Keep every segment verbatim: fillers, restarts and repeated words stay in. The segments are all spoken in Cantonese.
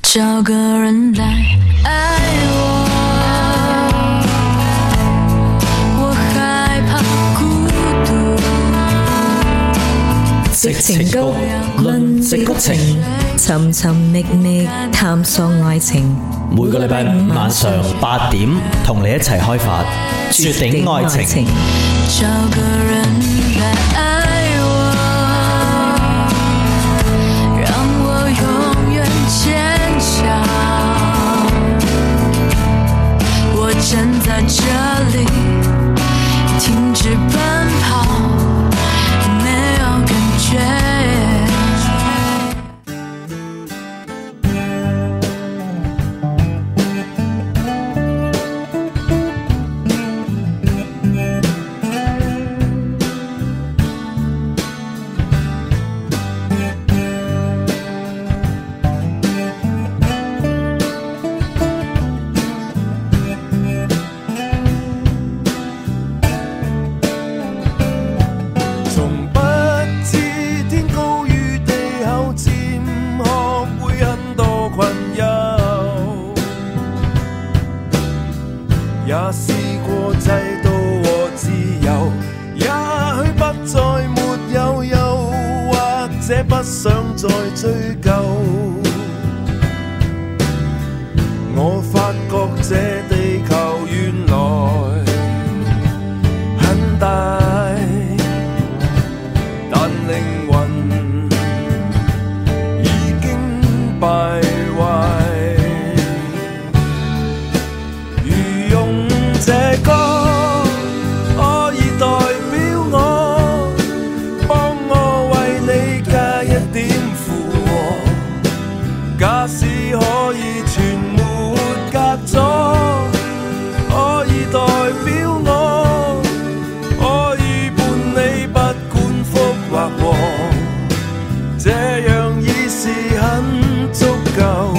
找個人來愛我，我害怕孤獨。矽情谷，論矽谷情，尋尋覓覓探索愛情。 每個禮拜五晚上八點，同你一齊開發絕頂愛情。 找個人來愛我，讓我永遠堅強。我站在這裡，停止奔跑，沒有感覺。 也試過制度和自由，也許不再沒有，又或者不想再追究。我發覺這地球原來很大，但靈魂已經敗壞。這歌可以代表我，幫我為你加一點附和。假使可以全沒隔阻，可以代表我，可以伴你不管福或禍，這樣已是很足夠。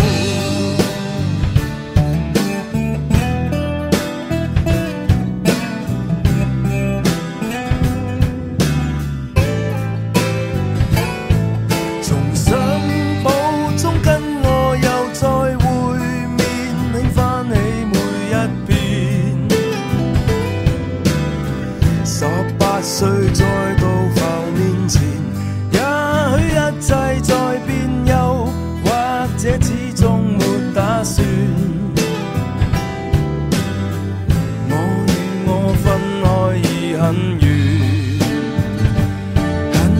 十八歲再度浮面前，也許一切在變，又或者始終沒打算。我與我分開已很遠，很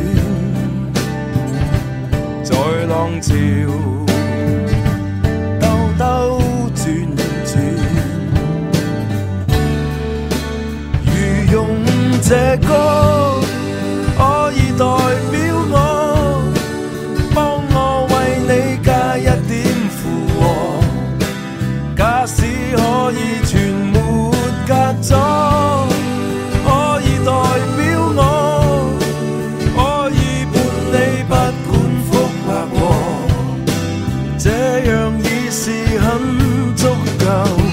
遠，在浪潮兜兜轉轉。用這歌可以代表我，幫我為你加一點附和。假使可以全沒隔阻，可以代表我，可以伴你不管福或禍，這樣已是很足夠。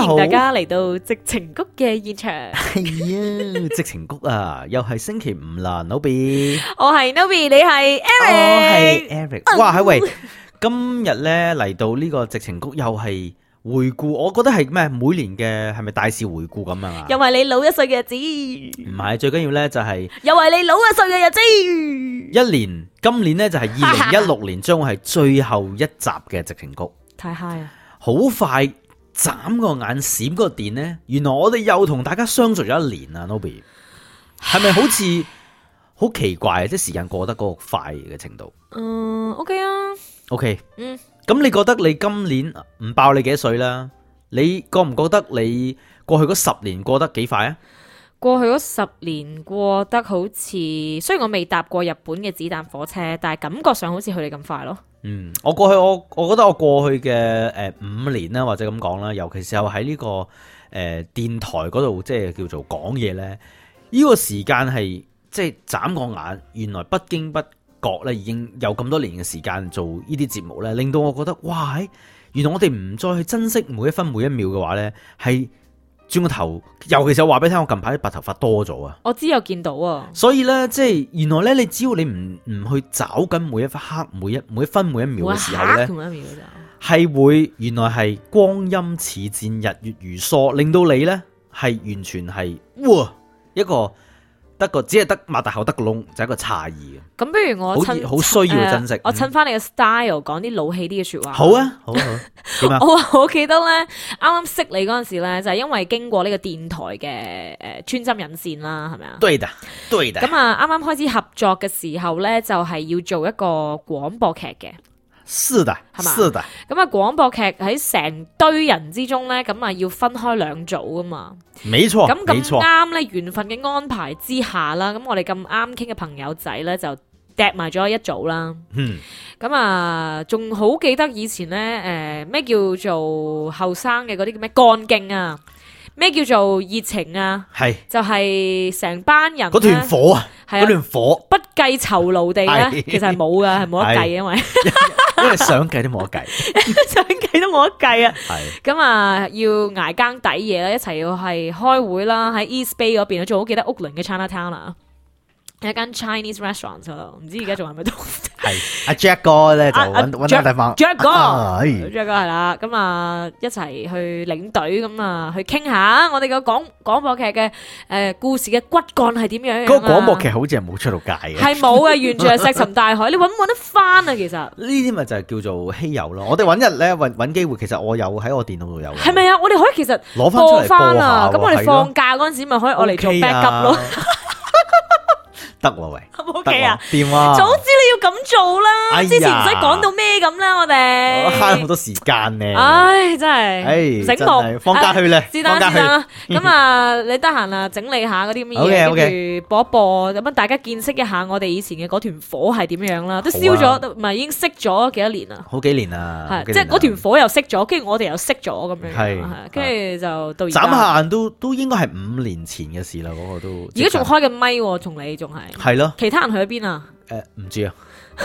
好， 歡迎大家嚟到矽情谷嘅現場。 係啊，矽情谷啊，又係星期五啦 ，Nobby。 我係 Nobby，你係 Eric。 我係 Eric。哇，係喂，今日咧嚟到呢個矽情谷又係回顧，我覺得係咩？每年嘅係咪大事回顧咁啊？ 又係你老一歲嘅日子。 唔係，最緊要咧就係又係你老一歲嘅日子。 一年，今年咧就係二零一六年，將會係最後一集嘅矽情谷。 太 high 啊！ 好快眨個眼閃個電呢，原來我哋又同大家相聚咗一年啊 ，Nobby， 係咪好似好奇怪啊？即係時間過得嗰個快嘅程度。 嗯 ，OK 啊 ，OK， 嗯， 咁你覺得你今年唔爆你幾多歲啦？你覺唔覺得你過去嗰十年過得幾快啊？ 過去嗰十年過得好似，雖然我未搭過日本嘅子彈火車，但係感覺上好似佢哋咁快咯。嗯， 我過去我我覺得我過去嘅誒五年啦，或者咁講啦，尤其是我喺呢個誒電台嗰度，即係叫做講嘢咧，呢個時間係即係眨個眼，原來不經不覺咧已經有咁多年嘅時間做呢啲節目咧，令到我覺得哇，原來我哋唔再去珍惜每一分每一秒嘅話咧，係。轉個頭，尤其是我話俾你聽，我近排啲白頭髮多咗啊！ 我知有見到啊， 所以咧，即係原來咧，你只要你唔唔去找緊每一刻、每一每一分、每一秒嘅時候咧，係會原來係光陰似箭，日月如梭，令到你咧係完全係哇一個。得個只係得擘大口得個窿，就係一個詫異嘅。咁不如我趁好需要去珍惜。呃、我趁翻你嘅 style 講啲老氣啲嘅說話。好啊，好啊，好。點啊？我話我記得咧，啱啱識你嗰陣時咧，就係因為經過呢個電台嘅誒穿針引線啦，係咪啊？對的，對的。咁啊，啱啱開始合作嘅時候咧，就係要做一個廣播劇嘅。是的，係嘛？是的。咁啊，廣播劇喺成堆人之中咧，咁啊要分開兩組噶嘛。沒錯，咁咁啱咧，緣分嘅安排之下啦，咁我哋咁啱傾嘅朋友仔咧就夾埋咗一組啦。嗯。咁啊，仲好記得以前咧，誒、呃、咩叫做後生嘅嗰啲叫咩幹勁啊？咩叫做熱情啊？係就係、是、成班人嗰團火啊，嗰團火不計酬勞地咧，其實係冇噶，係冇得計，因為因為想計都冇得計，想計都冇得計啊。係咁啊，要挨更抵夜啦，一齊要係開會啦，喺 East Bay 嗰邊啊，仲好記得屋崙嘅 Chinatown 啦。有一間 Chinese restaurant 咯，唔知而家仲係咪都係阿 Jack 哥咧就揾揾個地方 Jack 哥 Jack 哥係啦，咁啊一齊去領隊咁啊去傾下我哋個廣廣播劇嘅誒故事嘅骨幹係點樣？嗰個廣播劇好似係冇出到街嘅，係冇嘅，完全係石沉大海。你揾唔揾得翻啊？其實呢啲咪就係叫做稀有咯。我哋揾日咧揾揾機會，其實我有喺我電腦度有。係咪啊？我哋可以其實攞翻出嚟播啊！咁我哋放假嗰陣時咪可以我嚟做 backup 咯。得喎喂，O K啊，掂啊！早知你要咁做啦，之前唔使講到咩咁啦，我哋慳好多時間咧。唉，真係，醒目，放假去咧，放假去啦。咁啊，你得閒啊，整理下嗰啲乜嘢，跟住播一播，咁樣大家見識一下我哋以前嘅嗰團火係點樣啦。都燒咗，唔係已經熄咗幾多年啦？好幾年啦，係即係嗰團火又熄咗，跟住我哋又熄咗咁樣，係，跟住就到而家。眨下眼都都應該係五年前嘅事啦，嗰個都。而家仲開緊咪，同你仲係。係咯，其他人去咗邊啊？誒、呃，唔知啊。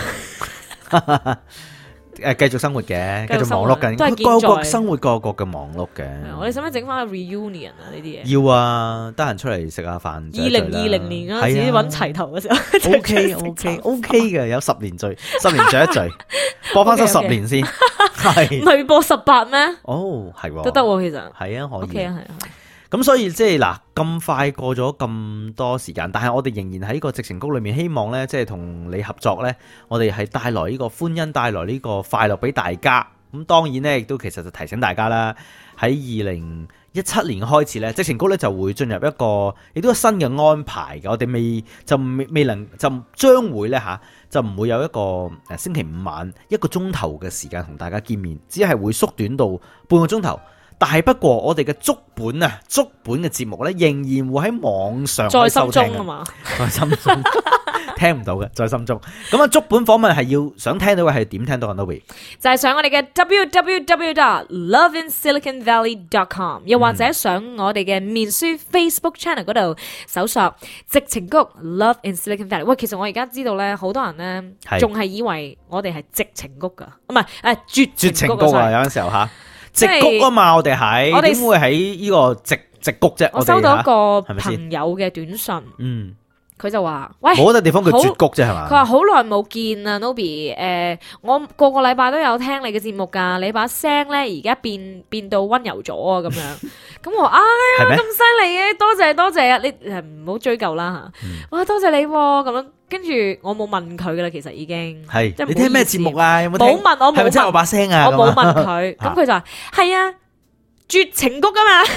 誒，繼續生活嘅，繼續忙碌緊，各國生活各國嘅忙碌嘅。我哋使唔使整翻個 reunion 啊？呢啲嘢要啊，得閒出嚟食下飯。二零二零年嗰陣時揾齊頭嘅時候，O K O K O K 嘅，有十年聚，十年聚一聚，播翻咗十年先，係唔係播十八咩？哦，係都得，其實係啊，可以。O K 啊，係啊。咁所以即係嗱，咁快過咗咁多時間，但係我哋仍然喺個矽情谷裏面，希望咧即係同你合作咧，我哋係帶來呢個歡欣，帶來呢個快樂俾大家。咁當然咧，亦都其實就提醒大家啦，喺二零一七年開始咧，矽情谷咧就會進入一個亦都有新嘅安排嘅。我哋未就未未能就將會咧吓，就唔會有一個誒星期五晚一個鐘頭嘅時間同大家見面，只係會縮短到半個鐘頭。但係不過我哋嘅足本啊，足本嘅節目咧，仍然會喺網上在心中啊嘛，在心中聽唔到嘅，在心中。咁啊，足本訪問係要想聽到嘅係點聽到啊 ？Nobby 就係上我哋嘅 w w w dot love in silicon valley dot com， 又或者上我哋嘅面書 Facebook channel 嗰度搜索矽情谷 Love in Silicon Valley。喂，其實我而家知道咧，好多人咧仲係以為我哋係矽情谷噶，唔係誒絕絕情谷啊！有陣時候吓。 矽谷啊嘛，我哋喺我哋點會喺呢個矽矽谷啫？ 我收到一個朋友嘅短信，嗯。佢就話：喂， 冇得地方叫絕谷啫，係嘛？ 佢話好耐冇見啊 ，Nobby。誒、呃，我個個禮拜都有聽你嘅節目㗎，你把聲咧而家變變到溫柔咗啊，咁樣。咁我話：哎呀，咁犀利嘅，多謝多謝啊！你誒唔好追究啦嚇。嗯、哇，多謝你咁、啊、樣。跟住我冇問佢㗎啦，其實已經係。 你聽咩節目啊？有冇聽？ 冇問我冇問。係咪真係我把聲啊？我冇問佢。咁佢就話：係啊，絕情谷啊嘛。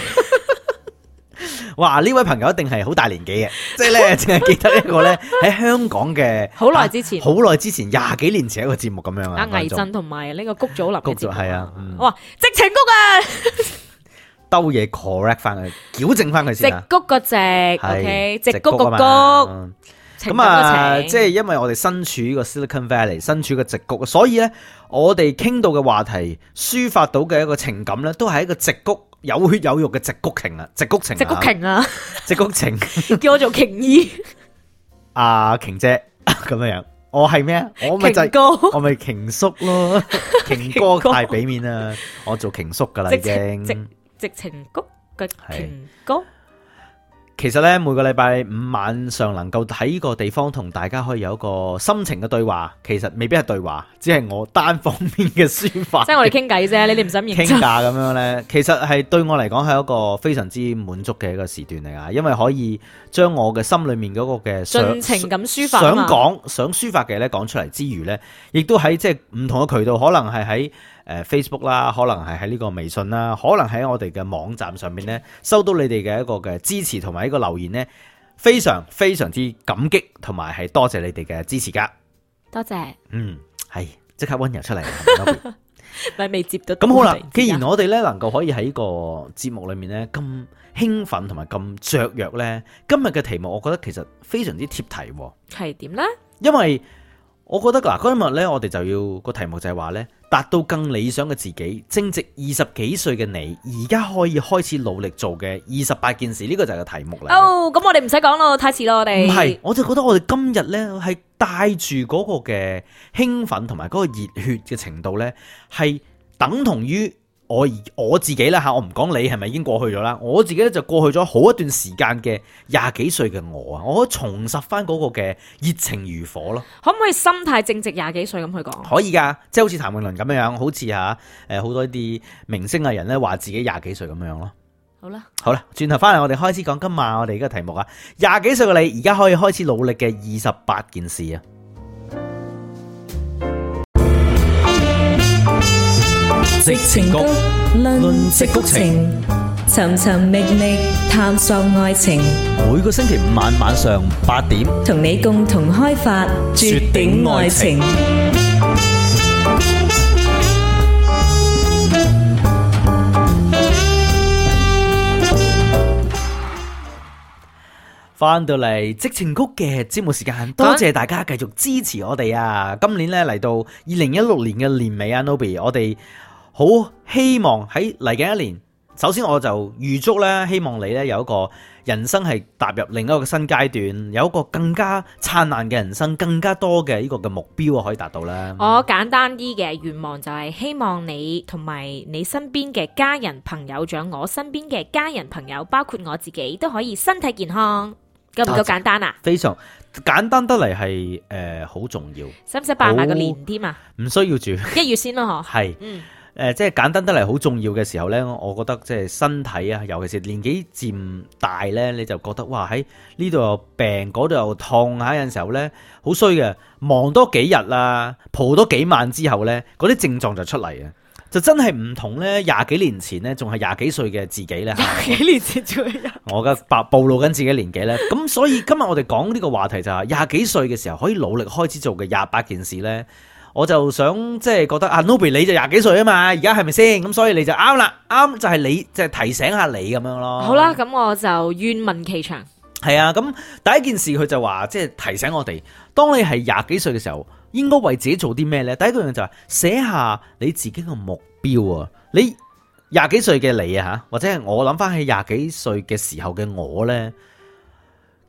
哇！呢位朋友一定係好大年紀嘅，即係咧淨係記得一個咧喺香港嘅好耐之前， 好耐之前廿幾年前一個節目咁樣啊。 阿倪震同埋呢個谷祖琳嘅節目係啊， 我話矽情谷啊， 兜嘢 correct 翻佢，矯正翻佢先啊。 矽谷個矽 ，OK，矽谷個谷。 咁啊，即係因為我哋身處呢個 Silicon Valley，身處個矽谷，所以咧我哋傾到嘅話題，抒發到嘅一個情感咧，都係一個矽谷。有血有肉嘅矽谷情啊，矽谷情， 矽谷情啊， 矽谷情， 叫我做瓊姨， 阿瓊姐咁樣樣，我係咩啊？我咪就係我咪瓊叔咯，瓊哥太俾面啦，我做瓊叔噶啦已經， 矽矽情谷嘅瓊哥。 其實咧，每個禮拜五晚上能夠喺呢個地方同大家可以有一個心情嘅對話，其實未必係對話，只係我單方面嘅抒發。 即係我哋傾偈啫，你哋唔使認真。 傾價咁樣咧，其實係對我嚟講係一個非常之滿足嘅一個時段嚟啊，因為可以將我嘅心裏面嗰個嘅盡情咁抒發， 想講想抒發嘅咧講出嚟之餘咧，亦都喺即係唔同嘅渠道，可能係喺誒 Facebook 啦，可能係喺呢個微信啦，可能喺我哋嘅網站上面咧，收到你哋嘅一個嘅支持同埋呢個留言咧，非常非常之感激，同埋係多謝你哋嘅支持噶。 多謝。 嗯，係即刻溫柔出嚟。 咪未接到。 咁好啦，既然我哋咧能夠可以喺呢個節目裏面咧咁興奮同埋咁雀躍咧，今日嘅題目我覺得其實非常之貼題。 係點咧？ 因為我覺得嗱，今日咧我哋就要個題目就係話咧，達到更理想嘅自己，正值二十幾歲嘅你，而家可以開始努力做嘅二十八件事，呢、這個就係個題目嚟。 哦，咁我哋唔使講咯，太遲咯，我哋。唔係， 我就覺得我哋今日咧係帶住嗰個嘅興奮同埋嗰個熱血嘅程度咧，係等同於我我自己啦吓，我唔講你係咪已經過去咗啦，我自己咧就過去咗好一段時間嘅廿幾歲嘅我啊，我可以重拾翻嗰個嘅熱情如火咯。 可唔可以心態正值廿幾歲咁去講？ 可以噶，即係好似譚詠麟咁樣樣，好似吓誒好多啲明星藝人咧話自己廿幾歲咁樣咯。 好啦， 好啦，轉頭翻嚟我哋開始講今晚我哋呢個題目啊，廿幾歲嘅你而家可以開始努力嘅二十八件事啊。 矽情谷，論矽谷情，尋尋覓覓探索愛情。 每個星期五晚晚上八點， 同你共同開發絕頂愛情。 翻到嚟矽情谷嘅節目時間，多謝大家繼續支持我哋啊！今年咧嚟到二零一六年嘅年尾啊 ，Nobby， 我哋好希望喺嚟緊一年，首先我就預祝咧，希望你咧有一個人生係踏入另一個新階段，有一個更加燦爛嘅人生，更加多嘅呢個嘅目標可以達到啦。 我簡單啲嘅願望就係希望你同埋你身邊嘅家人朋友，仲有我身邊嘅家人朋友，包括我自己都可以身體健康。夠唔夠簡單啊？ 非常簡單得嚟，係誒好重要。 使唔使辦埋個年添啊？ 唔需要住， 一月先咯，嗬。係，嗯。 誒、呃，即係簡單得嚟好重要嘅時候咧，我覺得即係身體啊，尤其是年紀漸大咧，你就覺得哇喺呢度又病，嗰度又痛嚇，有陣時候咧好衰嘅，忙多幾日啦，蒲多幾晚之後咧，嗰啲症狀就出嚟啊！就真係唔同咧，廿幾年前咧，仲係廿幾歲嘅自己咧。 廿幾年前仲係我嘅白暴露緊自己年紀咧。咁所以今日我哋講呢個話題就係廿幾歲嘅時候可以努力開始做嘅廿八件事咧。我就想即係覺得啊 Nobby 你就廿幾歲啊嘛，而家係咪先？咁所以你就啱啦，啱就係你即係提醒下你咁樣咯。 好啦，咁我就願聞其詳。 係啊，咁第一件事佢就話即係提醒我哋，當你係廿幾歲嘅時候，應該為自己做啲咩呢？第一個樣就係寫下你自己嘅目標啊！你廿幾歲嘅你啊吓，或者係我諗翻起廿幾歲嘅時候嘅我呢，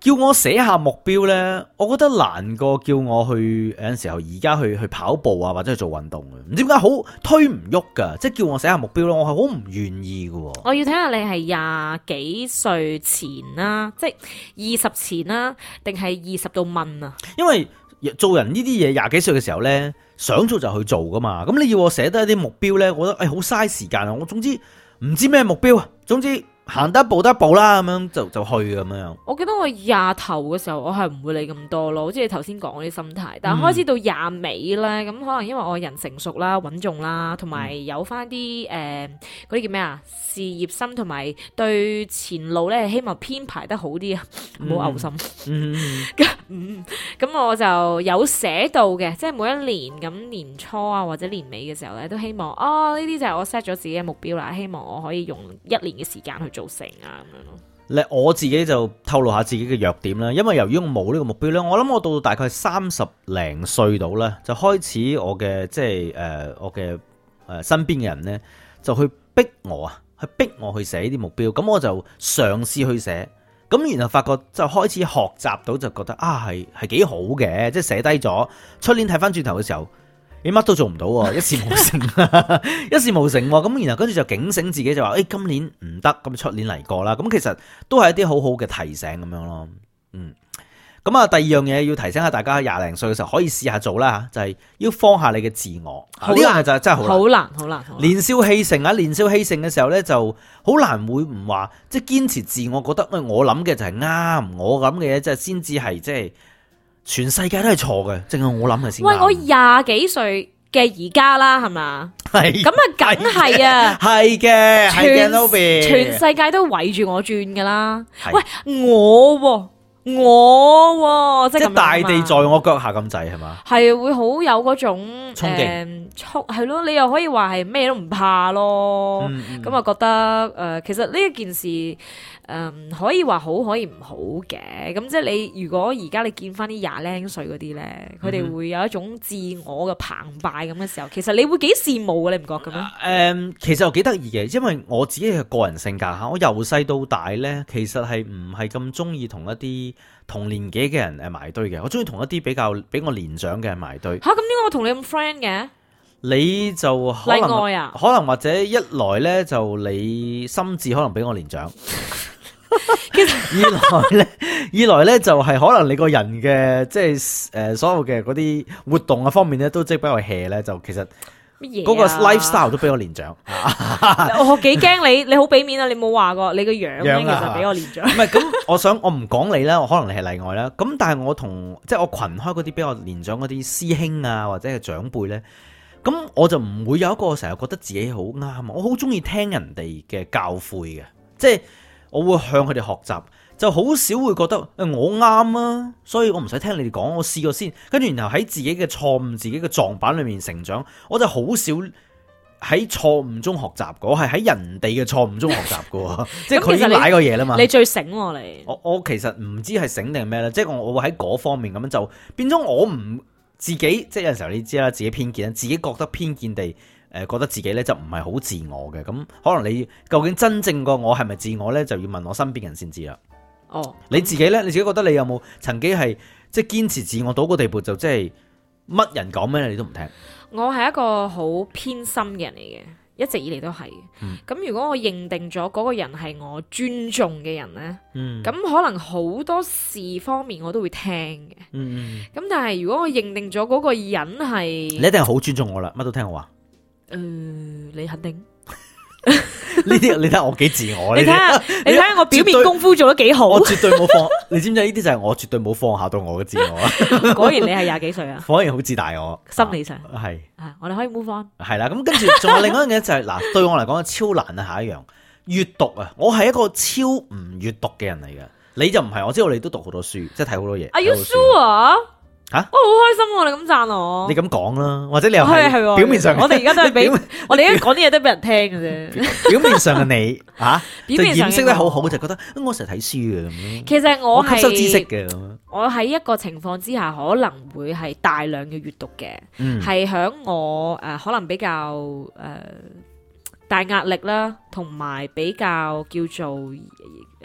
叫我寫下目標呢，我覺得難過叫我去有陣時候而家去去跑步啊，或者去做運動嘅，唔知點解好推唔喐噶，即係叫我寫下目標咯，我係好唔願意嘅。我要睇下你係廿幾歲前啦，即係二十前啦，定係二十到問啊？因為做人呢啲嘢廿幾歲嘅時候呢，想做就去做噶嘛。咁你要我寫得一啲目標呢，我覺得誒好嘥時間啊。我總之唔知咩目標啊，總之。行得一步得一步啦，咁樣就就去咁樣。我記得我廿頭嘅時候，我係唔會理咁多咯，好似你頭先講嗰啲心態。但係開始到廿尾咧，咁、嗯、可能因為我人成熟啦、穩重啦，同埋有翻啲誒嗰啲叫咩啊？事業心同埋對前路咧，希望編排得好啲啊，唔好嘔心。嗯，咁、嗯、我就有寫到嘅，即係每一年咁年初啊或者年尾嘅時候咧，都希望啊呢啲就係我 set 咗自己嘅目標啦，希望我可以用一年嘅時間去做成啊咁樣咯。咧我自己就透露下自己嘅弱點啦，因為由於我冇呢個目標咧，我諗我到大概三十零歲到咧，就開始我嘅即係誒我嘅誒身邊嘅人咧，就去逼我啊。去逼我去寫呢啲目標，咁我就嘗試去寫，咁然後發覺就開始學習到，就覺得啊係係幾好嘅，即係寫低咗，出年睇翻轉頭嘅時候，你乜都做唔到，一事無成，一事無成，咁然後跟住就警醒自己就話，誒、哎、今年唔得，咁出年嚟過啦，咁其實都係一啲好好嘅提醒咁樣咯，嗯。咁啊，第二樣嘢要提醒下大家，廿零歲嘅時候可以試下做啦，就係、是、要放下你嘅自我。呢樣嘢就真係好難，好難，好難。年少氣盛啊，年少氣盛嘅時候咧，就好難會唔話，即係堅持自我，覺得我諗嘅就係啱，我諗嘅嘢即係先至係即係全世界都係錯嘅，淨係我諗嘅先。喂，我廿幾歲嘅而家啦，係嘛？係咁啊，梗係啊，係嘅，係嘅，Nobby，全世界都圍住我轉噶啦。喂，我。我即係大地在我腳下咁滯係嘛？係會好有嗰種衝勁，衝係咯，你又可以話係咩都唔怕咯。咁、嗯、啊、嗯、覺得誒、呃，其實呢一件事誒、呃，可以話好，可以唔好嘅。咁即係你如果而家你見翻啲廿零歲嗰啲咧，佢哋會有一種自我嘅澎湃咁嘅時候，其實你會幾羨慕嘅，你唔覺嘅咩？誒、呃，其實又幾得意嘅，因為我自己嘅個人性格吓，我由細到大咧，其實係唔係咁中意同一啲同年紀嘅人誒埋堆嘅，我中意同一啲比較比我年長嘅人埋堆。吓，咁點解我同你咁 friend 嘅？你就可能例外啊？可能或者一來咧就你心智可能比我年長，其實二來咧二來咧就係可能你個人嘅即係誒所有嘅嗰啲活動啊方面咧都即係比較 hea 咧，就其實。嗰、啊、個 lifestyle 都比我年長，我幾驚你，你好俾面啊！你冇話過你個樣咧，其實比我年長。唔係咁，我想我唔講你啦，我可能你係例外啦。咁但係我同即係我群開嗰啲比我年長嗰啲師兄啊，或者係長輩咧，咁我就唔會有一個成日覺得自己好啱。我好中意聽人哋嘅教誨嘅，即係我會向佢哋學習。就好少會覺得誒我啱啊，所以我唔使聽你哋講，我試過先，跟住然後喺自己嘅錯誤、自己嘅撞板裏面成長，我就好少喺錯誤中學習過，我係喺人哋嘅錯誤中學習過，即係佢已經買過嘢啦嘛。你最醒喎你，我我其實唔知係醒定係咩咧，即係我我會喺嗰方面咁樣就變咗我唔自己，即係有陣時候你知啦，自己偏見啦，自己覺得偏見地誒覺得自己咧就唔係好自我嘅，咁可能你究竟真正個我係咪自我咧，就要問我身邊人先知啦。哦，你自己咧？你自己覺得你有冇曾經係即係堅持自我到個地步，就即係乜人講咩你都唔聽？我係一個好偏心嘅人嚟嘅，一直以嚟都係。咁、嗯、如果我認定咗嗰個人係我尊重嘅人咧，咁、嗯、可能好多事方面我都會聽嘅。咁、嗯、但係如果我認定咗嗰個人係，你一定係好尊重我啦，乜都聽我話。誒、呃，你肯定？呢啲你睇下我幾自我，你睇下你睇下我表面功夫做得幾好，我絕對冇放，你知唔知呢啲就係我絕對冇放下到我嘅自我啊！果然你係廿幾歲啊，果然好自大我，心理上係啊，我哋可以 move on 係啦。咁跟住仲有另外一樣嘢就係、是、嗱，對我嚟講超難啊，下一樣閱讀啊，我係一個超唔閱讀嘅人嚟嘅，你就唔係，我知道你都讀好多書，即係睇好多嘢。Are you sure？吓、啊，我好開心喎！你咁讚我，你咁講啦，或者你又係表面上，我哋而家都係俾我哋而家講啲嘢都俾人聽嘅啫。表面上嘅你吓、啊，就掩飾得好好，就覺得我成日睇書嘅咁。其實我係吸收知識嘅，我喺一個情況之下可能會係大量嘅閱讀嘅，係、嗯、響我誒、呃、可能比較誒、呃、大壓力啦，同埋比較叫做誒。呃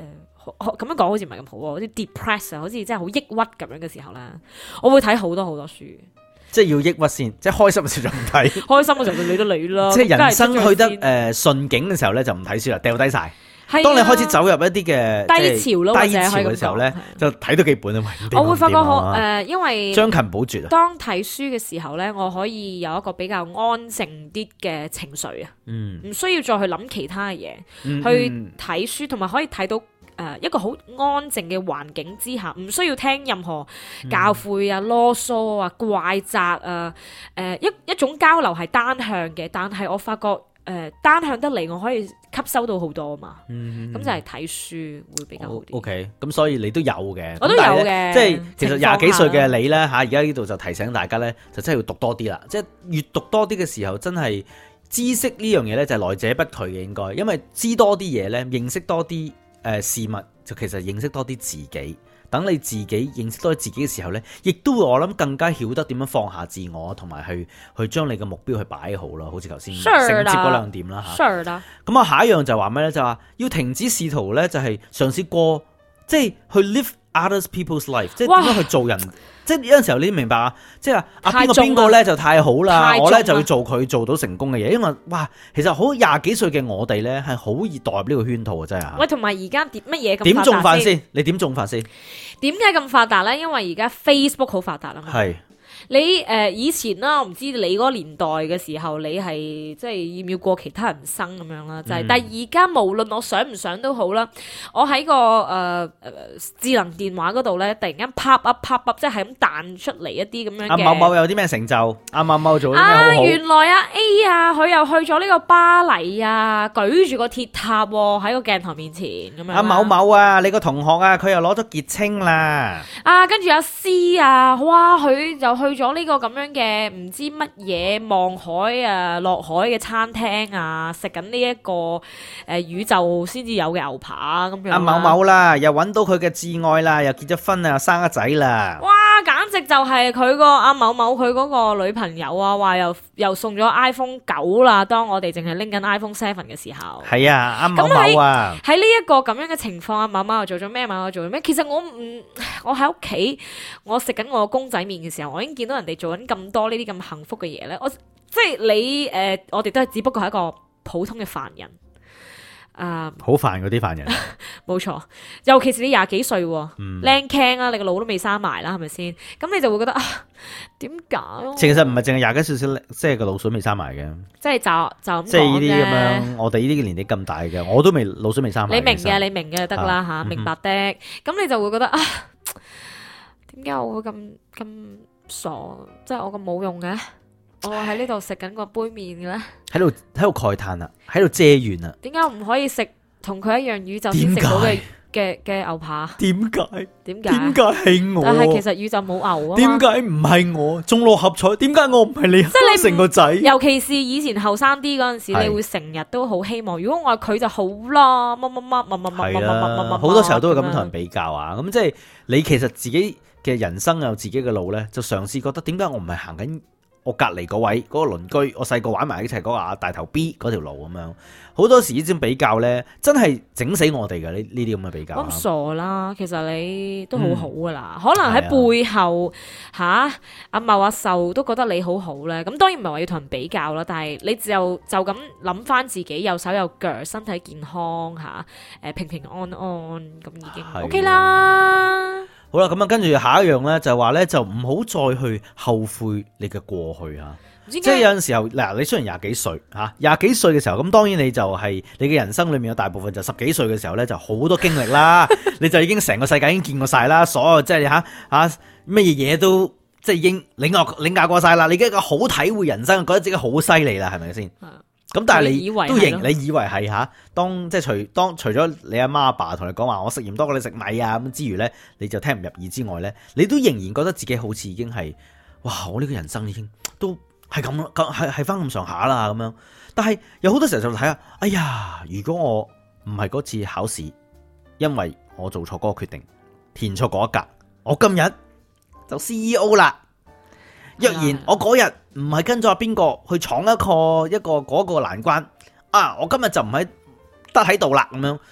咁樣講好似唔係咁好喎，好似 depress 啊，好似真係好抑鬱咁樣嘅時候咧，我會睇好多好多書。即係要抑鬱先，即係開心嘅時候就唔睇。 開心嘅時候就理得理啦。 即係人生去得誒順境嘅時候咧，就唔睇書啦，掉低晒。當你開始走入一啲嘅低潮咯， 低潮嘅時候咧，就睇到幾本啊。 我會發覺好誒，因為將勤補拙啊。 當睇書嘅時候咧，我可以有一個比較安靜啲嘅情緒啊，嗯，唔需要再去諗其他嘅嘢，嗯、去睇書，同埋可以睇到誒一個好安靜嘅環境之下，唔需要聽任何教誨啊、囉嗦啊、怪責啊，誒一一種交流係單向嘅，但係我發覺。誒、呃、單向得嚟，我可以吸收到好多啊嘛，咁、嗯、就係睇書會比較好啲。O K，咁所以你都有嘅， 我都有嘅。 即係其實廿幾歲嘅你咧嚇，而家呢度就提醒大家咧，就真係要讀多啲啦。即係越讀多啲嘅時候，真係知識呢樣嘢咧，就係來者不拒嘅應該，因為知多啲嘢咧，認識多啲誒事物，就其實認識多啲自己。等你自己認識多自己嘅時候呢，亦都會我諗更加曉得點樣放下自我，同埋去去將你嘅目標去擺好啦。好似頭先承接嗰兩點啦嚇。咁啊，下一樣就話咩呢？就話要停止試圖呢，就係嘗試過，即係去 live others people's life，即係點樣去做人。即係有陣時候你明白啊，即係啊邊個邊個咧就太好啦，我咧就要做佢做到成功嘅嘢，因為哇，其實好廿幾歲嘅我哋咧係好易代入呢個圈套啊，真係。喂， 同埋而家點乜嘢咁點種法先？你點種法先？ 點解咁發達咧？因為而家 Facebook 好發達啊嘛。係。你誒、呃、以前啦，我唔知你嗰個年代嘅時候，你係即係要唔要過其他人生咁樣啦，就係、是。嗯、但係而家無論我想唔想都好啦，我喺個誒誒、呃、智能電話嗰度咧，突然間 pop up pop up，即係咁彈出嚟一啲咁樣嘅。阿某某有啲咩成就？阿某某做啲咩好好？啊，原來啊 A 啊，佢又去咗呢個巴黎啊，舉住個鐵塔喎，喺個鏡頭面前咁樣。阿某某啊，你個同學啊，佢又攞咗傑青啦。啊，跟住阿 C 啊，哇，佢就去咗呢個咁樣嘅唔知乜嘢望海啊落海嘅餐廳啊，食緊呢一個誒、呃、宇宙先至有嘅牛扒咁樣。阿某某啦，又揾到佢嘅摯愛啦，又結咗婚啊，又生咗仔啦。哇，簡直就係佢個阿某某佢嗰個女朋友啊，話又又送咗 iPhone 九啦。當我哋淨係拎緊 iPhone Seven 嘅時候，係啊，阿某某啊，喺呢一個咁樣嘅情況，阿某某又做咗咩？某某做咗咩？其實我唔，我喺屋企，我食緊我個公仔麵嘅時候，我已經見到人哋做緊咁多呢啲咁幸福嘅嘢咧。我即係你誒、呃，我哋都係只不過係一個普通嘅凡人。啊，好煩嗰啲凡人，冇錯，尤其是你廿幾歲，靚 can 啊，你個腦都未生埋啦，係咪先？咁你就會覺得啊，點解？其實唔係淨係廿幾歲先，即係個腦水未生埋嘅，即係就就咁講啫。即係呢啲咁樣，我哋呢啲年紀咁大嘅，我都未腦水未生埋。你明嘅，你明嘅就得啦吓，明白的。咁你就會覺得啊，點解我會咁咁傻？即係我咁冇用嘅？我喺呢度食緊個杯麵嘅咧，喺度喺度慨嘆啊，喺度借緣啊。點解唔可以食同佢一樣宇宙先食到嘅嘅嘅牛扒？點解？點解？點解係我？但係其實宇宙冇牛啊。點解唔係我中六合彩？點解我唔係你？即係你成個仔。尤其是以前後生啲嗰陣時，你會成日都好希望，如果我係佢就好啦，乜乜乜乜乜乜乜乜乜乜。好多時候都會咁樣同人比較啊。咁即係你其實自己嘅人生有自己嘅路咧，就嘗試覺得點解我唔係行緊我隔籬嗰位嗰、嗰個鄰居，我細個玩埋一齊嗰個阿大頭 B 嗰條路咁樣，好多時呢種比較咧，真係整死我哋嘅呢呢啲咁嘅比較。咁傻啦，其實你都好好噶啦，嗯、可能喺背後吓阿茂阿壽都覺得你好好咧。咁當然唔係話要同人比較啦，但係你就就咁諗翻自己有手有腳，身體健康吓，誒平平安安咁已經 OK 啦。好啦，咁啊，跟住下一樣咧，就係話咧，就唔好再去後悔你嘅過去啊！即係有陣時候，嗱，你雖然廿幾歲吓，廿幾歲嘅時候，咁當然你就係、是、你嘅人生裏面有大部分就十幾歲嘅時候咧，就好多經歷啦，你就已經成個世界已經見過晒啦，所有即係吓吓乜嘢嘢都即係已經領教領教過晒啦，你已經一個好體會人生，覺得自己好犀利啦，係咪先？咁但係你都認，你以為係吓，當即係除當除咗你阿媽阿爸同你講話我食鹽多過你食米啊咁之餘咧，你就聽唔入耳之外咧，你都仍然覺得自己好似已經係哇，我呢個人生已經都係咁咯，係係翻咁上下啦咁樣。但係有好多時候就睇下，哎呀，如果我唔係嗰次考試，因為我做錯嗰個決定，填錯嗰一格，我今日就 C E O 啦。若然我嗰日唔係跟咗阿邊個去闖一個一個嗰個難關啊，我今日就唔喺得喺度啦咁樣。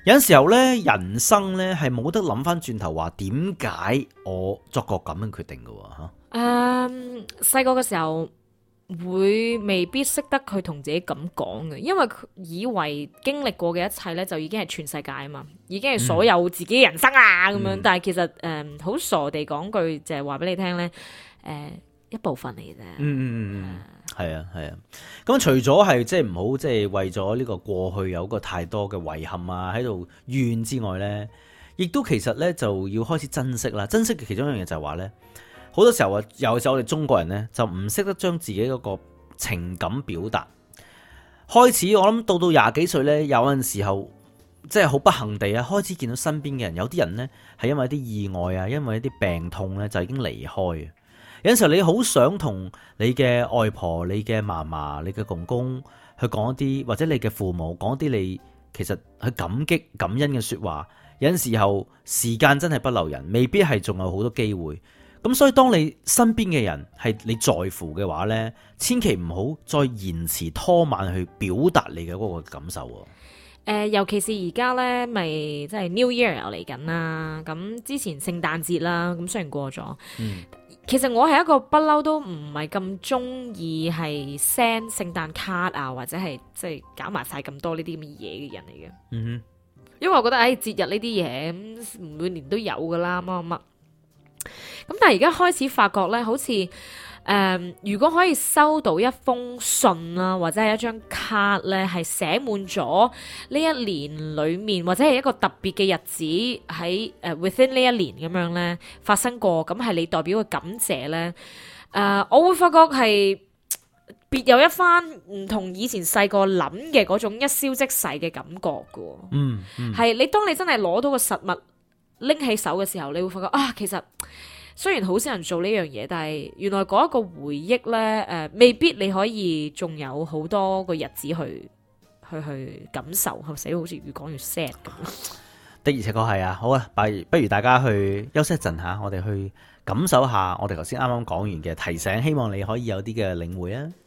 有陣時候咧，人生咧係冇得諗翻轉頭話點解我作個咁樣決定嘅吓。 誒，細個嘅時候會未必識得佢同自己咁講嘅，因為佢以為經歷過嘅一切咧就已經係全世界啊嘛，已經係所有自己人生啊咁樣。嗯、但係其實誒好、呃、傻地講句就係話俾你聽咧，誒、呃、一部分嚟啫。嗯嗯嗯，係啊係啊。咁除咗係即係唔好即係為咗呢個過去有個太多嘅遺憾啊喺度怨之外咧，亦都其實咧就要開始珍惜啦。珍惜嘅其中一樣嘢就係話咧。好多時候啊，尤其是我哋中國人呢，就唔識得將自己嗰個情感表達。開始我諗到到廿幾歲呢，有陣時候即係好不幸地啊，開始見到身邊嘅人，有啲人呢係因為一啲意外啊，因為一啲病痛呢，就已經離開。有陣時候你好想同你嘅外婆、你嘅嫲嫲、你嘅公公去講一啲，或者你嘅父母講一啲你其實去感激感恩嘅說話。有陣時候時間真係不留人，未必係仲有好多機會。咁所以當你身邊嘅人係你在乎嘅話呢，千祈唔好再延遲拖慢去表達你嘅嗰個感受。誒、 呃，尤其是而家呢，咪即係 New Year 又嚟緊啦。咁之前聖誕節啦，咁雖然過咗，嗯、其實我係一個不嬲都唔係咁中意係 send 聖誕卡啊，或者係即係搞埋晒咁多呢啲咁嘅嘢嘅人嚟嘅。嗯哼，因為我覺得誒節日呢啲嘢每年都有噶啦，乜乜乜。咁但係而家開始發覺咧，好似誒、呃，如果可以收到一封信啦，或者係一張卡咧，係寫滿咗呢一年裏面，或者係一個特別嘅日子喺誒、呃、within 呢一年咁樣咧發生過，咁係你代表嘅感謝咧，誒、呃，我會發覺係別有一番唔同以前細個諗嘅嗰種一消即逝嘅感覺噶。嗯，係、嗯、你當你真係攞到個實物拎起手嘅時候，你會發覺啊，其實雖然好少人做呢樣嘢，但係原來嗰一個回憶呢，誒、呃，未必你可以仲有好多個日子去去去感受，係咪死好似越講越 sad 咁？ 的而且確係啊，好啊，不如大家去休息一陣下，我哋去感受下我哋頭先啱啱講完嘅提醒，希望你可以有啲嘅領會啊！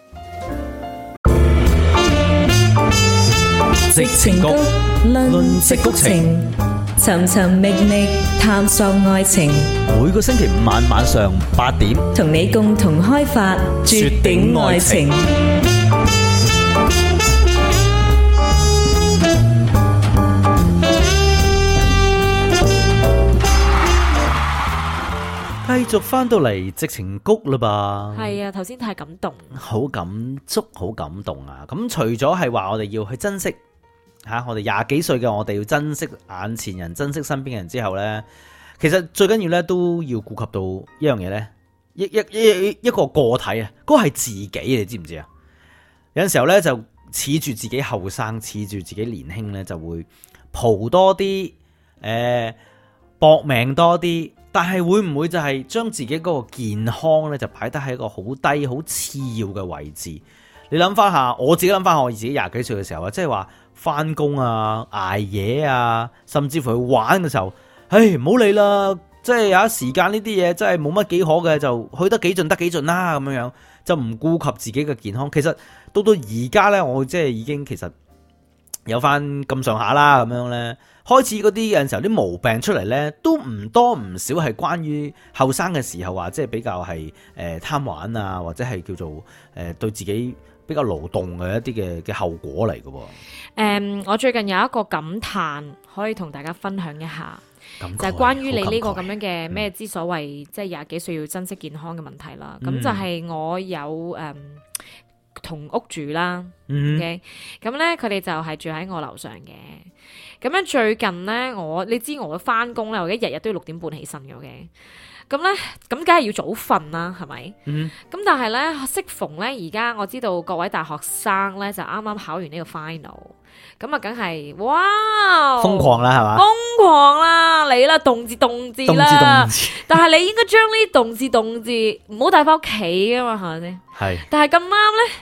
矽情谷論矽谷情，尋尋覓覓探索愛情。 每個星期五晚晚上八點， 同你共同開發絕頂愛情。 繼續翻到嚟矽情谷啦吧？ 係啊，頭先太感動， 好感觸，好感動啊！咁除咗係話我哋要去珍惜吓、啊，我哋廿幾歲嘅我哋要珍惜眼前人，珍惜身邊嘅人之後呢，其實最緊要呢都要顧及到一樣嘢呢，一一一一個個體啊，嗰個係自己，你知唔知啊？有陣時候呢，就恃住自己後生，恃住自己年輕呢，就會蒲多啲，誒、呃，搏命多啲。但係會唔會就係將自己嗰個健康咧，就擺得喺一個好低、好次要嘅位置？你諗翻下，我自己諗翻下我自己廿幾歲嘅時候啊，即係話翻工啊、捱夜啊，甚至乎去玩嘅時候，唉，唔好理啦，即係有一時間呢啲嘢真係冇乜幾可嘅，就去得幾盡得幾盡啦，咁樣樣就唔顧及自己嘅健康。其實到到而家咧，我即係已經其實有翻咁上下啦，咁樣咧。開始嗰啲有陣時候啲毛病出嚟呢，都唔多唔少係關於後生嘅時候話，即係比較係誒貪玩啊，或者係叫做誒、呃、對自己比較勞動嘅一啲嘅嘅後果嚟嘅。誒、 嗯，我最近有一個感嘆，可以同大家分享一下，就係關於你呢個咁樣嘅咩之所謂，即係廿幾歲要珍惜健康嘅問題啦。咁、嗯、就係我有誒同、嗯、屋住啦、嗯、，OK，咁呢，佢哋就係住喺我樓上嘅。咁樣最近咧，我你知我翻工咧，我而家日日都要六點半起身嘅，OK。咁咧，咁梗係要早瞓啦，係咪？咁、嗯、但係咧，適逢咧，而家我知道各位大學生咧就啱啱考完呢個 final，咁啊，梗係哇， 瘋狂啦，係嘛？ 瘋狂啦，嚟啦，動字動字啦，但係你應該將呢啲動字動字唔好帶翻屋企噶嘛，係咪先？係。但係咁啱咧。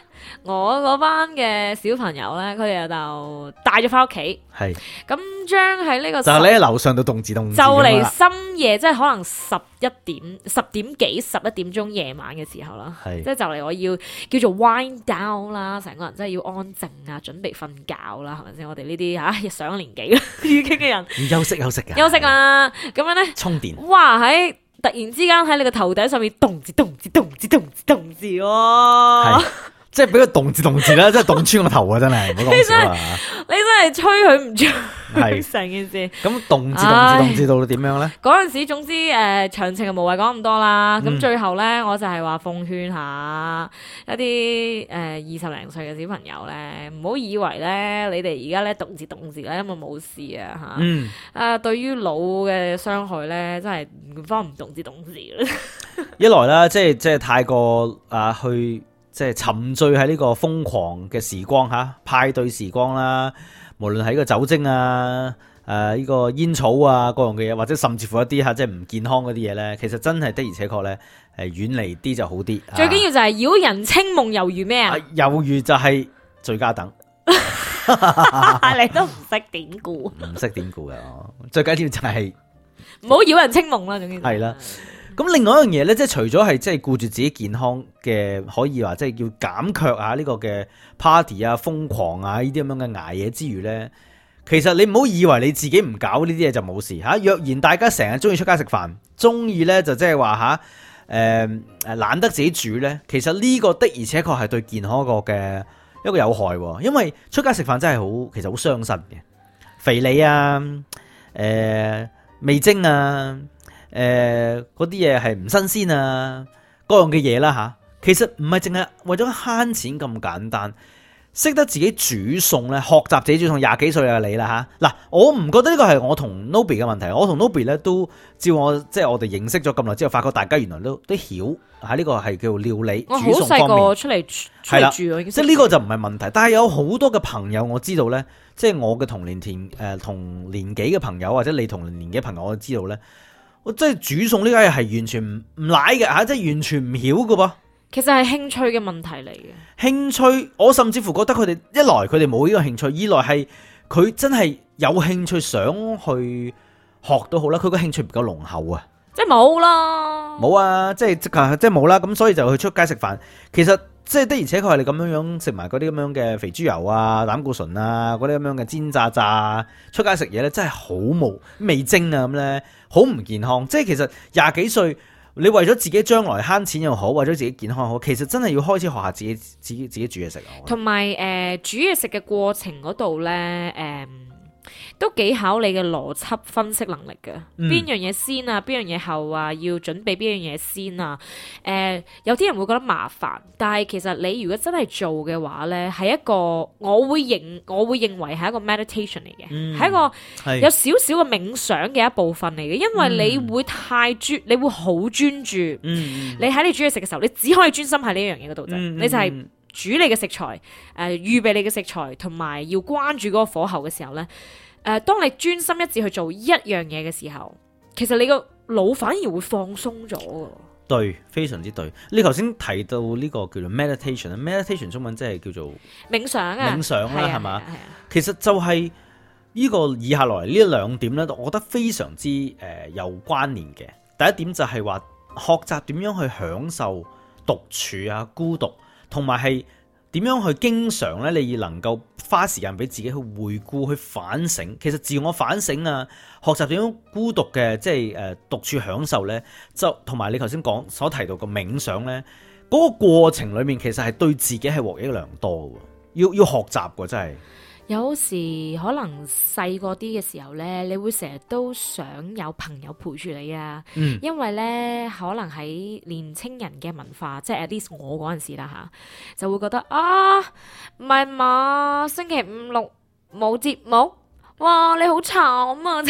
我嗰班嘅小朋友咧，佢哋就帶咗翻屋企，係咁將喺呢個就你喺樓上度動字動字， 就嚟深夜，即係可能十一點、十點幾、十一點鐘夜晚嘅時候啦，即係就嚟我要叫做 wind down 啦，成個人真係要安靜啊，準備瞓覺啦，係咪先？我哋呢啲吓上年紀已經嘅人， 要休息休息嘅， 休息啦，咁樣咧充電， 哇喺突然之間喺你個頭頂上面動字動字動字動字動字喎。 即係俾佢動字動字啦，即係動穿個頭啊！真係唔好講笑啊！ 你真係吹佢唔吹，係成件事。咁動字動字動字到到點樣咧？ 嗰陣時，總之誒，詳情就無謂講咁多啦。咁、嗯、最後咧，我就係話奉勸下一啲誒二十零歲嘅小朋友咧，唔好以為咧你哋而家咧動字動字咧，因為冇事啊吓。嗯。誒，對於腦嘅傷害咧，真係唔方唔動字動字啦。 一來啦，即係即係太過啊去。即係沉醉喺呢個瘋狂嘅時光嚇，派對時光啦，無論係呢個酒精啊、誒、呃、呢、這個煙草啊各樣嘅嘢，或者甚至乎一啲嚇即係唔健康嗰啲嘢咧，其實真係的而且確咧係遠離啲就好啲。 最緊要就係擾人清夢，猶如咩啊？ 猶如就係最佳等。 你都唔識典故， 唔識典故嘅，最緊要就係唔好擾人清夢啦。總之係啦。咁另外一樣嘢咧，即係除咗係即係顧住自己健康嘅，可以話即係要減卻下呢個嘅 party 啊、瘋狂啊呢啲咁樣嘅捱夜之餘咧，其實你唔好以為你自己唔搞呢啲嘢就冇事嚇。若然大家成日中意出街食飯，中意咧就即係話嚇誒誒懶得自己煮咧，其實呢個的而且確係對健康一個嘅一個有害喎。因為出街食飯真係好，其實好傷身嘅，肥膩啊、誒、呃、味精啊。誒嗰啲嘢係唔新鮮啊，各樣嘅嘢啦嚇，其實唔係淨係為咗慳錢咁簡單，識得自己煮餸咧，學習自己煮餸，廿幾歲嘅你啦嚇。嗱，我唔覺得呢個係我同 Nobby 嘅問題，我同 Nobby 咧都照我即係我哋認識咗咁耐之後，發覺大家原來都都曉喺呢個係叫做料理我煮餸方面。 我好細個出嚟出嚟住， 即係呢個就唔係問題，但係有好多嘅朋友我知道咧，即係我嘅同年田誒同年紀嘅朋友，或者你同年紀嘅朋友，我知道咧。我真係煮餸呢家嘢係完全唔唔賴嘅嚇，即係完全唔曉嘅噃。 其實係興趣嘅問題嚟嘅。 興趣，我甚至乎覺得佢哋一來佢哋冇呢個興趣，二來係佢真係有興趣想去學都好啦，佢個興趣唔夠濃厚啊。 即係冇啦。冇啊，即係即係即係冇啦。咁所以就去出街食飯。其實即係的而且確係你咁樣樣食埋嗰啲咁樣嘅肥豬油啊、膽固醇啊、嗰啲咁樣嘅煎炸炸，出街食嘢咧真係好冇味精啊咁咧。好唔健康，即係其實廿幾歲，你為咗自己將來慳錢又好，為咗自己健康又好，其實真係要開始學下自己自己自己煮嘢食啊。 同埋誒煮嘢食嘅過程嗰度咧，誒、呃、都幾考你嘅邏輯分析能力嘅。邊、嗯、樣嘢先啊？邊樣嘢後啊？要準備邊樣嘢先啊？誒、呃、有啲人會覺得麻煩，但係其實你如果真係做嘅話咧，係一個我會認我會認為係一個 meditation 嚟嘅，係、嗯、一個有少少嘅冥想嘅一部分嚟嘅，因為你會太專，你會好專注。嗯、你喺你煮嘢食嘅時候，你只可以專心喺呢一樣嘢嗰度啫，嗯、你就係煮你嘅食材，誒、呃、預備你嘅食材，同埋要關住嗰個火候嘅時候咧。誒、呃，當你專心一致去做一樣嘢嘅時候，其實你個腦反而會放鬆咗嘅。 對，非常之對。你頭先提到呢個叫做 meditation，meditation 中文即係叫做冥想啊，冥想啦，係嘛？其實就係呢個以下來呢兩點咧，我覺得非常之誒、呃、有關聯嘅。第一點就係話學習點樣去享受獨處啊、孤獨，同埋係。點樣去經常咧？你能夠花時間俾自己去回顧、去反省。其實自我反省啊，學習點樣孤獨嘅，即係誒獨處享受咧，就同埋你頭先講所提到嘅冥想咧，嗰個過程裏面其實係對自己係獲益良多嘅。要要學習嘅真係。 有時可能細個啲嘅時候咧，你會成日都想有朋友陪住你啊，嗯、因為咧可能喺年青人嘅文化，即係 at least 我嗰陣時啦吓，就會覺得啊，唔係嘛，星期五六冇節目，哇你好慘啊！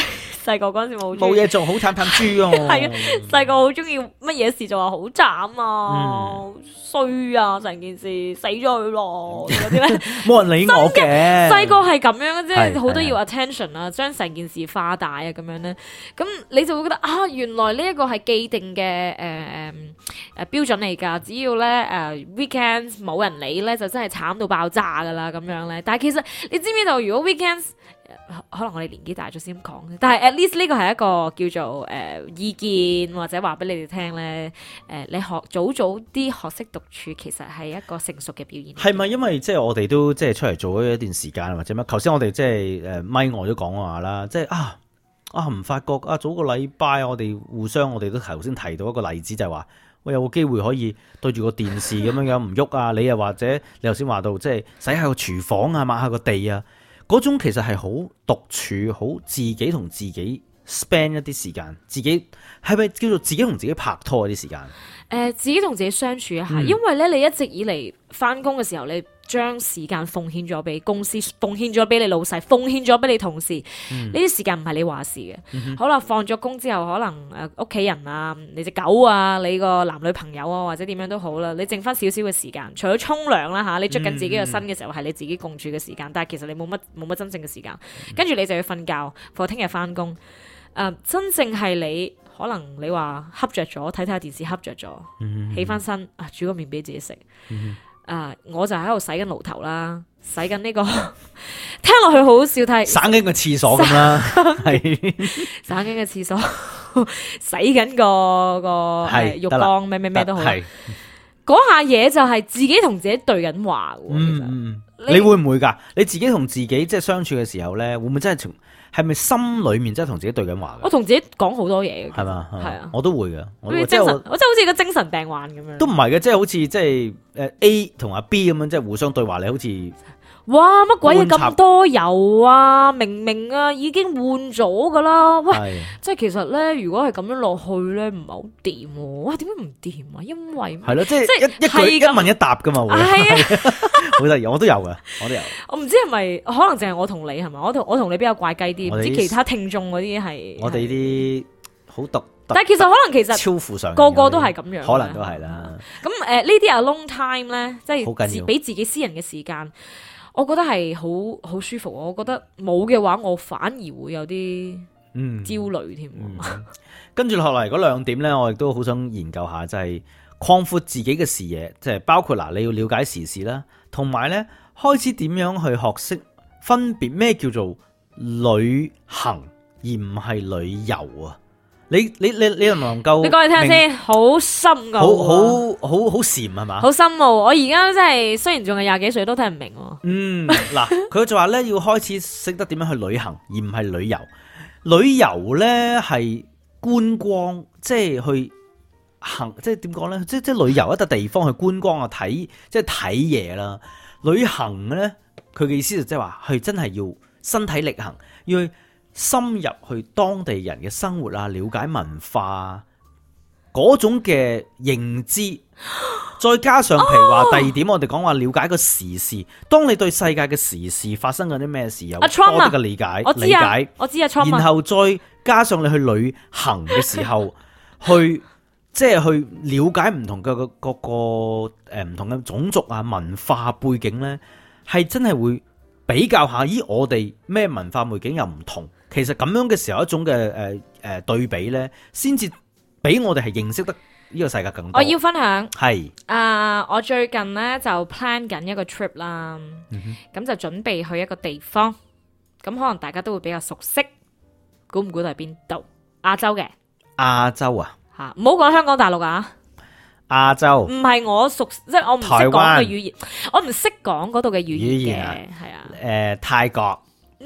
細個嗰陣時冇冇嘢做，好慘慘豬啊！ 係啊，細個好中意乜嘢事就話好慘啊，衰、嗯、啊，成件事死咗佢咯嗰啲咧，冇人理我嘅。 細個係咁樣嘅啫，好多要 attention 啊，將成件事化大啊，咁樣咧，咁你就會覺得啊，原來呢一個係既定嘅誒誒誒標準嚟㗎，只要咧誒、呃、weekends 冇人理咧，就真係慘到爆炸㗎啦咁樣咧。但係其實你知唔知道，如果 weekends可能我哋年紀大咗先講，但係 at least 呢個係一個叫做誒、呃、意見或者話俾你哋聽咧。誒、呃，你學早早啲學識獨處，其實係一個成熟嘅表現。係咪因為即係我哋都即係出嚟做咗一段時間或者乜？頭先我哋即係誒咪我都講話啦，即係啊啊唔發覺啊早個禮拜我哋互相我哋都頭先提到一個例子，就係話喂有個機會可以對住個電視咁樣樣唔喐啊，你又或者你頭先話到即係洗下個廚房啊，抹下個地啊。嗰種其實係好獨處，好自己同自己 spend 一啲時間，自己係咪叫做自己同自己拍拖嗰啲時間？誒、 呃，自己同自己相處一下，嗯、因為咧你一直以嚟翻工嘅時候，你將時間奉獻咗俾公司，奉獻咗俾你老細，奉獻咗俾你同事，呢啲、嗯、時間唔係你話事嘅。嗯、哼好啦，放咗工之後，可能誒屋企人啊，你隻狗啊，你個男女朋友啊，或者點樣都好啦，你剩翻少少嘅時間，除咗沖涼啦吓，你捉緊自己嘅身嘅時候係、嗯、你自己共處嘅時間，但係其實你冇乜冇乜真正嘅時間，跟住、嗯、你就要瞓覺，放聽日翻工。誒、呃，真正係你可能你話瞌着咗，睇睇下電視瞌着咗，嗯、哼起翻身啊，煮個麵俾自己食。嗯誒，uh, 我就喺度洗緊爐頭啦，洗緊呢、這個，聽落去好好笑，睇省緊個廁所咁啦，係省緊個廁所，洗緊個個係浴缸，咩咩咩都好，嗰下嘢就係自己同自己對緊話。嗯嗯， 你會唔會噶？你自己同自己即係相處嘅時候咧，會唔會真係從？係咪心裏面真係同自己對緊話？ 我同自己講好多嘢嘅，係嘛？係啊， 我都會嘅。我精神，我真係好似個精神病患咁樣。 都唔係嘅，即係好似即係誒 A 同阿 B 咁樣，即係互相對話。你好似哇乜鬼嘢咁多油啊！明明啊已經換咗噶啦，喂！是即係其實咧，如果係咁樣落去咧，唔係好掂喎。哇，點解唔掂啊？因為係咯，即係一一句一問一答噶嘛。係啊。好得意，我都有噶，我都有。 我唔知係咪可能淨係我同你係咪？我同我同你比較怪雞啲，唔知其他聽眾嗰啲係。 我哋啲好獨特， 但係其實可能其實超乎常人， 個個都係咁樣， 可能都係啦。 咁誒呢啲 alone time 咧，即係俾自己私人嘅時間，我覺得係好好舒服。我覺得冇嘅話，我反而會有啲焦慮添。 跟住落嚟嗰兩點咧，我亦都好想研究下，就係擴闊自己嘅視野，即係包括嗱，你要了解時事啦。同埋咧，開始點樣去學識分別咩叫做旅行，而唔係旅遊啊？你你你你能唔能夠？你講嚟聽先，好深奧，好好好好禪係嘛？好深奧，我而家真係雖然仲係廿幾歲，都聽唔明。 嗯，嗱，佢就話咧要開始識得點樣去旅行，而唔係旅遊。旅遊咧係觀光，即係去。行即係點講咧？即係即係旅遊一笪地方去觀光啊，睇即係睇嘢啦。旅行咧，佢嘅意思就即係話，係真係要身體力行，要去深入去當地人嘅生活啊，了解文化嗰種嘅認知。再加上譬如話第二點，我哋講話了解個時事。當你對世界嘅時事發生緊啲咩事有多啲嘅理解，理解我知啊， 然後再加上你去旅行嘅時候去。即係去了解唔同嘅各個誒唔同嘅種族啊文化背景咧，係真係會比較下，咦我哋咩文化背景又唔同，其實咁樣嘅時候一種嘅誒誒對比咧，先至俾我哋係認識得呢個世界更多。 我要分享係啊，uh, 我最近咧就 plan 緊一個 trip 啦，咁、嗯、哼就準備去一個地方，咁可能大家都會比較熟悉，估唔估到係邊度？亞洲嘅亞洲啊？ 吓，唔好講香港大陸啊！ 亞洲唔係我熟，即係我唔識講嘅語言，我唔識講嗰度嘅語言嘅，係啊。誒、 呃，泰國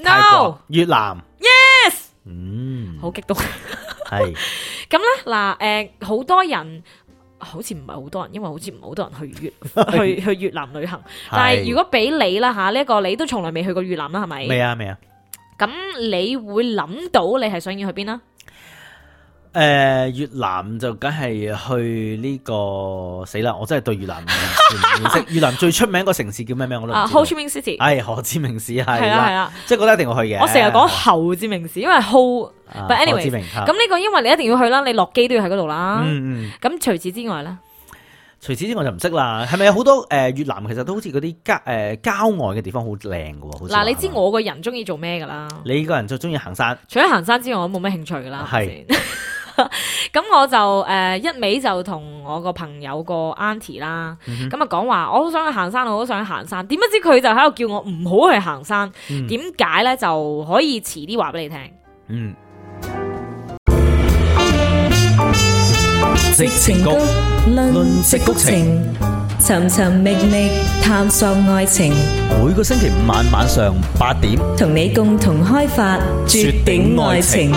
No 越南 Yes， 嗯， 好激動。 係咁咧嗱，誒，好、呃、多人好似唔係好多人，因為好似唔係好多人去越去去越南旅行。但係如果俾你啦吓，呢、這、一個你都從來未去過越南啦，係咪？ 未啊，未啊。 咁你會諗到你係想要去邊啊？ 誒、 誒，越南就梗係去呢個死啦！我真係對越南唔認識。越南最出名個城市叫咩名我都唔知。 Ho Chi Minh City。係何志明市係啦， 係啦， 即係覺得一定要去嘅。 我成日講侯志明市，因為 Ho。But anyway，咁呢個因為你一定要去啦，你落機都要喺嗰度啦。嗯嗯。咁除此之外咧？ 除此之外就唔識啦。係咪有好多誒越南其實都好似嗰啲郊誒郊外嘅地方好靚嘅喎？ 嗱，你知我個人中意做咩㗎啦？ 你個人就中意行山。除咗行山之外，我都冇咩興趣㗎啦。係。咁我就誒、呃、一味就同我個朋友個 auntie 啦，咁啊講話我好想去行山，我好想去行山。點不知佢就喺度叫我唔好去行山。點解咧？就可以遲啲話俾你聽。嗯。 矽情谷，論矽谷情，尋尋覓覓探索愛情。 每個星期五晚晚上八點， 同你共同開發絕頂愛情。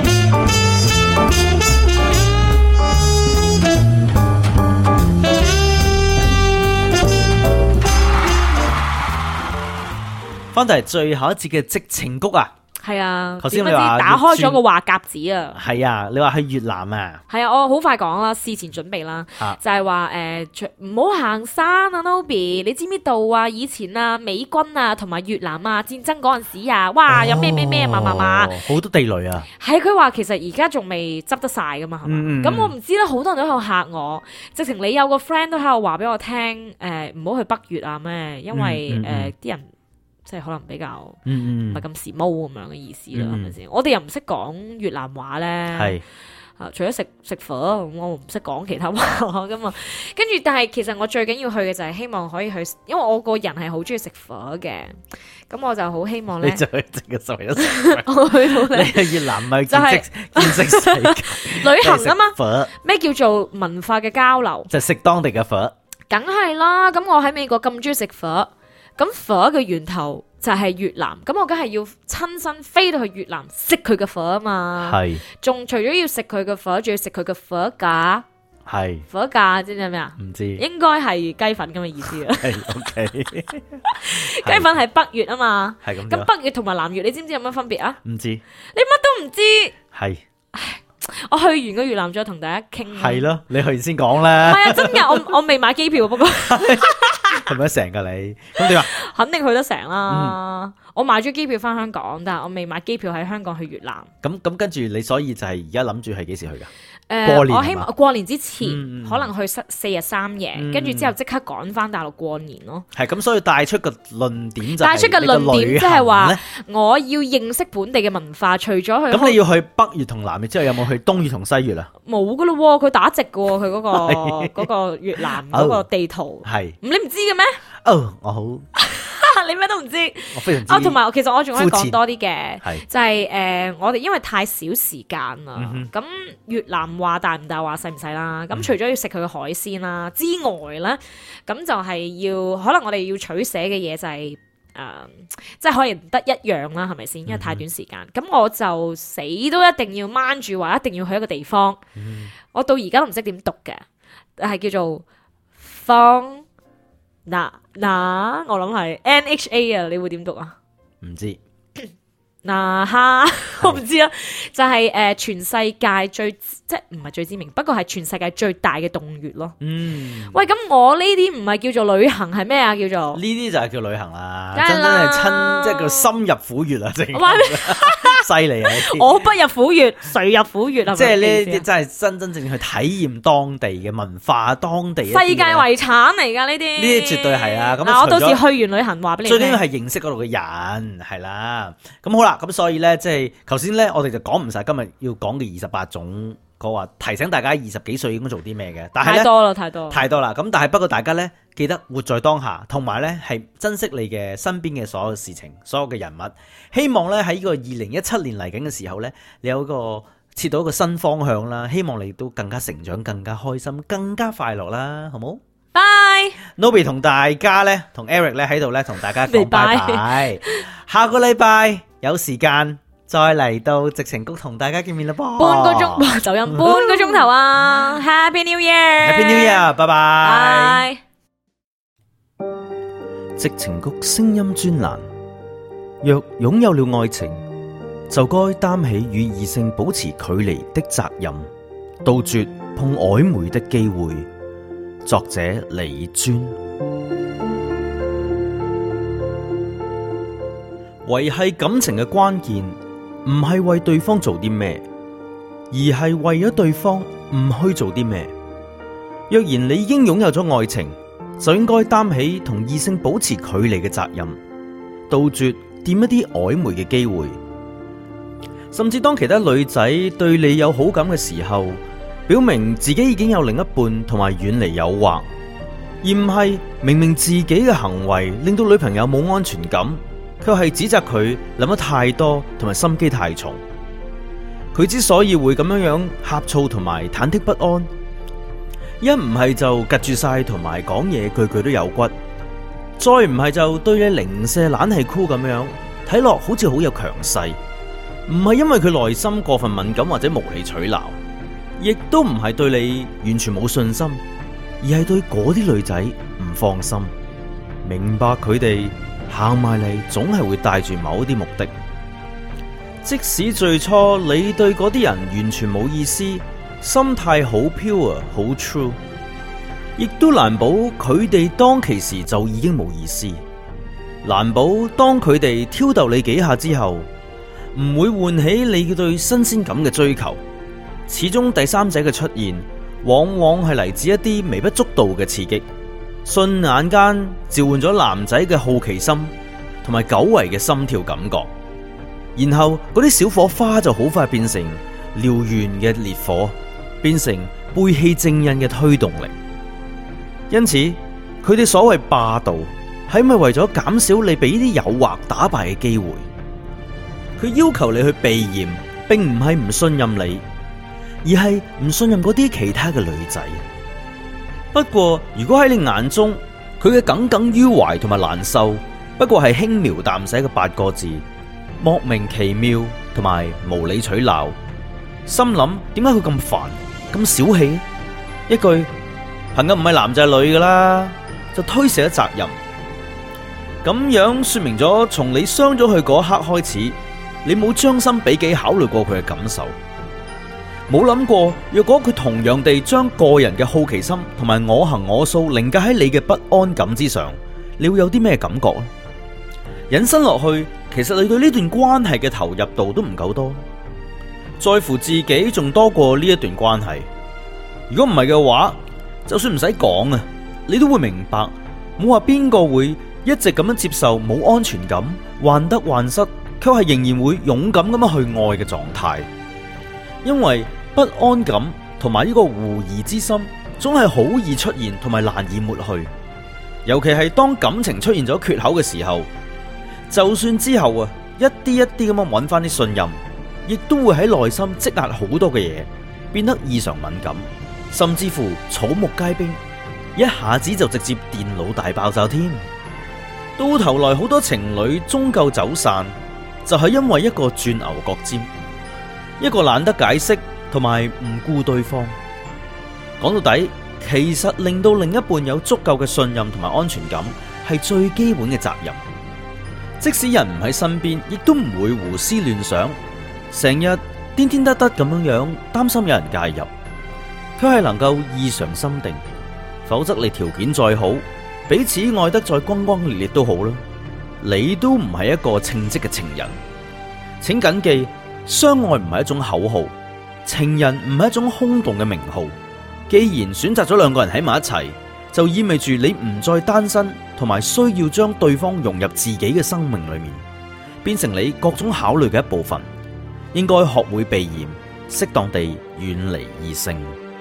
翻到嚟最後一節嘅矽情谷啊！ 係啊， 頭先你話打開咗個話匣子啊！ 係啊，你話去越南啊？ 係啊，我好快講啦，事前準備啦，啊、就係話誒，唔好行山啊 ，Nobby， 你知唔知道啊？以前啊，美軍啊，同埋越南啊，戰爭嗰陣時啊，哇，有咩咩咩嘛嘛嘛， 好多地雷啊！ 係佢話其實而家仲未執得晒噶嘛，係嘛？咁、嗯、我唔知啦，好多人都喺度嚇我，直情你有個 friend 都喺度話俾我聽，誒唔好去北越啊咩？因為誒啲、嗯嗯呃、人。即係可能比較唔係咁時髦咁樣嘅意思啦，係咪先？我哋又唔識講越南話咧，係啊，除咗食食火，我唔識講其他話噶嘛。跟住，但係其實我最緊要去嘅就係希望可以去，因為我個人係好中意食火嘅，咁我就好希望咧。你就去食嘅就係一食。我去到你去越南咪見識見識世界旅行啊嘛？咩叫做文化嘅交流？就食當地嘅火。梗係啦，咁我喺美國咁中意食火。咁火嘅源頭就係越南，咁我梗係要親身飛到去越南食佢嘅火啊嘛，係，仲除咗要食佢嘅火，仲要食佢嘅火架，係，火架知唔知咩啊？唔知，應該係雞粉咁嘅意思啊。係，OK，雞粉係北越啊嘛，係咁。咁北越同埋南越，你知唔知有乜分別啊？唔知，你乜都唔知，係。我去完個越南再同大家傾。係咯，你去完先講啦。係啊，真嘅，我我未買機票，不過係咪得成噶你？咁點啊？肯定去得成啦。嗯、我買咗機票翻香港，但係我未買機票喺香港去越南。咁咁跟住你，所以就係而家諗住係幾時去噶？誒、呃，我希望過年之前、嗯、可能去四四日三夜，跟住、嗯、之後即刻趕翻大陸過年咯。係咁，所以帶出個論點就係帶出個論點，即係話我要認識本地嘅文化。除咗去咁，你要去北越同南越之後，有冇去東越同西越啊？冇噶咯，佢打直噶，佢嗰、嗰個嗰個越南嗰個地圖係，你唔知嘅咩？哦，我好。你咩都唔知，我非常知啊！同埋，其實我仲可以講多啲嘅，就係、是、誒、呃，我哋因為太少時間啦，咁、嗯、越南話大唔大話細唔細啦，咁、嗯、除咗要食佢嘅海鮮啦之外咧，咁就係要可能我哋要取捨嘅嘢就係、是、誒、呃，即係可以唔得一樣啦，係咪先？因為太短時間，咁、嗯、我就死都一定要掹住話，一定要去一個地方。嗯、我到而家都唔識點讀嘅，係叫做方。嗱嗱，我諗係 N H A 啊，你會點讀啊？唔知。嗱哈，我唔知啊，就係、是、誒、呃、全世界最即係唔係最知名，不過係全世界最大嘅洞穴咯。嗯，喂，咁我呢啲唔係叫做旅行，係咩啊？叫做呢啲就係叫旅行啦，真真係親，即係叫深入虎穴啊！正犀利啊！我不入虎穴，誰入虎穴啊？即係呢啲真係真真正正去體驗當地嘅文化，當地世界遺產嚟噶呢啲，呢啲絕對係啊！咁我到時去完旅行話俾你聽，最緊要係認識嗰度嘅人，係啦。咁好啦。咁所以咧，即係頭先咧，我哋就講唔晒今日要講嘅二十八種，個話提醒大家二十幾歲應該做啲咩嘅。但係太多啦，太多，太多啦。咁但係不過大家咧，記得活在當下，同埋咧係珍惜你嘅身邊嘅所有事情，所有嘅人物。希望咧喺呢個二零一七年嚟緊嘅時候咧，你有一個切到一個新方向啦。希望你都更加成長，更加開心，更加快樂啦，好冇？Bye，Nobby 同大家咧，同 Eric 咧喺度咧，同大家講拜拜。下個禮拜。有時間再嚟到矽情谷同大家見面啦噃，半個鐘就飲半個鐘頭啊！Happy New Year！Happy New Year！拜拜！矽情谷聲音專欄，若擁有了愛情， 就該擔起與異性保持距離的責任，杜絕碰曖昧的機會。作者李尊。維繫感情嘅關鍵唔係為對方做啲咩，而係為咗對方唔去做啲咩。若然你已經擁有咗愛情，就應該擔起同異性保持距離嘅責任，杜絕掂一啲曖昧嘅機會。甚至當其他女仔對你有好感嘅時候，表明自己已經有另一半同埋遠離誘惑，而唔係明明自己嘅行為令到女朋友冇安全感，卻係指責佢諗得太多同埋心機太重。佢之所以會咁樣樣呷醋同埋忐忑不安，一唔係就夾住晒同埋講嘢句句都有骨，再唔係就對你零舍懶係酷咁樣，睇落好似好有強勢。唔係因為佢內心過分敏感或者無理取鬧，亦都唔係對你完全冇信心，而係對嗰啲女仔唔放心。明白佢哋行埋嚟總係會帶住某啲目的，即使最初你對嗰啲人完全冇意思，心態好 pure 好 true， 亦都難保佢哋當其時就已經冇意思。難保當佢哋挑逗你幾下之後，唔會喚起你對新鮮感嘅追求。始終第三者嘅出現，往往係嚟自一啲微不足道嘅刺激，瞬眼間召喚咗男仔嘅好奇心同埋久違嘅心跳感覺，然後嗰啲小火花就好快變成燎原嘅烈火，變成背棄正印嘅推動力。因此，佢哋所謂霸道，係咪為咗減少你俾呢啲誘惑打敗嘅機會？佢要求你去避嫌，並唔係唔信任你，而係唔信任嗰啲其他嘅女仔。不過，如果喺你眼中，佢嘅耿耿於懷同埋難受，不過係輕描淡寫嘅八個字，莫名其妙同埋無理取鬧，心諗點解佢咁煩咁小氣？一句朋友唔係男就係女噶啦，就推卸咗責任。咁樣說明咗，從你傷咗佢嗰刻開始，你冇將心比己考慮過佢嘅感受，冇諗過若果佢同樣地將個人嘅好奇心同埋我行我素凌駕喺你嘅不安感之上，你會有啲咩感覺啊？引申落去，其實你對呢段關係嘅投入度都唔夠多，在乎自己仲多過呢一段關係。如果唔係嘅話，就算唔使講啊，你都會明白，冇話邊個會一直咁樣接受冇安全感、患得患失，卻係仍然會勇敢咁樣去愛嘅狀態。因為不安感同埋呢個狐疑之心，總係好易出現同埋難以抹去。尤其係當感情出現咗缺口嘅時候，就算之後啊一啲一啲咁樣揾翻啲信任，亦都會喺內心積壓好多嘅嘢，變得異常敏感，甚至乎草木皆兵，一下子就直接電腦大爆炸添。到頭來好多情侶終究走散，就係因為一個鑽牛角尖，一個懶得解釋同埋唔顧對方。講到底，其實令到另一半有足夠嘅信任同埋安全感，係最基本嘅責任。即使人唔喺身邊，亦都唔會胡思亂想，成日顛顛得得咁樣樣，擔心有人介入，佢係能夠異常心定。否則你條件再好，彼此愛得再轟轟烈烈都好啦，你都唔係一個稱職嘅情人。請謹記，相愛唔係一種口號，情人唔係一種空洞嘅名號。既然選擇咗兩個人喺埋一齊，就意味住你唔再單身，同埋需要將對方融入自己嘅生命裏面，變成你各種考慮嘅一部分。應該學會避嫌，適當地遠離異性。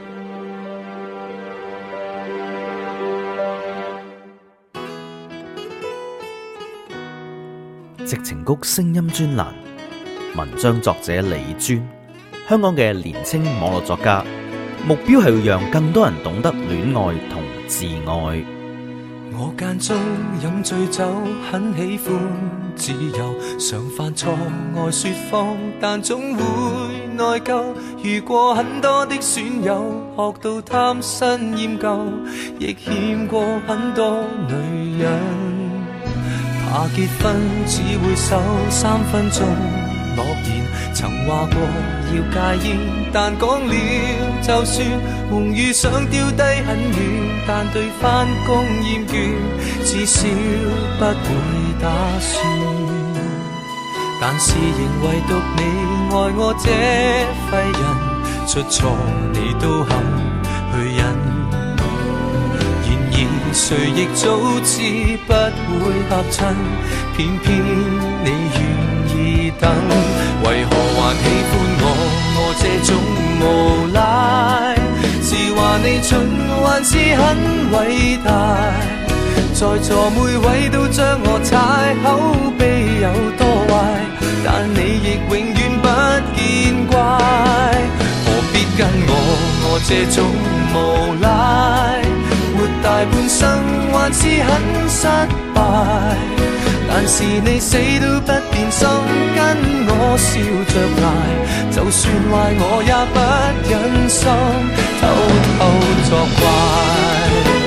矽情谷聲音專欄，文章作者李尊，香港嘅年輕網絡作家，目標係要讓更多人懂得戀愛同自愛。 我間中飲醉酒，很喜歡自由，常犯錯愛說謊，但總會內疚。遇過很多的損友，學到貪新厭舊，亦欠過很多女人。怕結婚只會守三分鐘諾言，曾話過要戒煙，但講了就算，夢與想丟低很遠，但對返工厭倦，至少不會打算。但是仍唯獨你愛我這廢人，出錯你都肯去忍。誰亦早知不會合襯，偏偏你願意等。為何還喜歡我？我這種無賴，是話你蠢還是很偉大？在座每位都將我踩，口碑有多壞，但你亦永遠不見怪。何必跟我？我這種無賴，活大半生還是很失敗，但是你死都不變心，跟我笑着捱，就算壞我也不忍心偷偷作怪。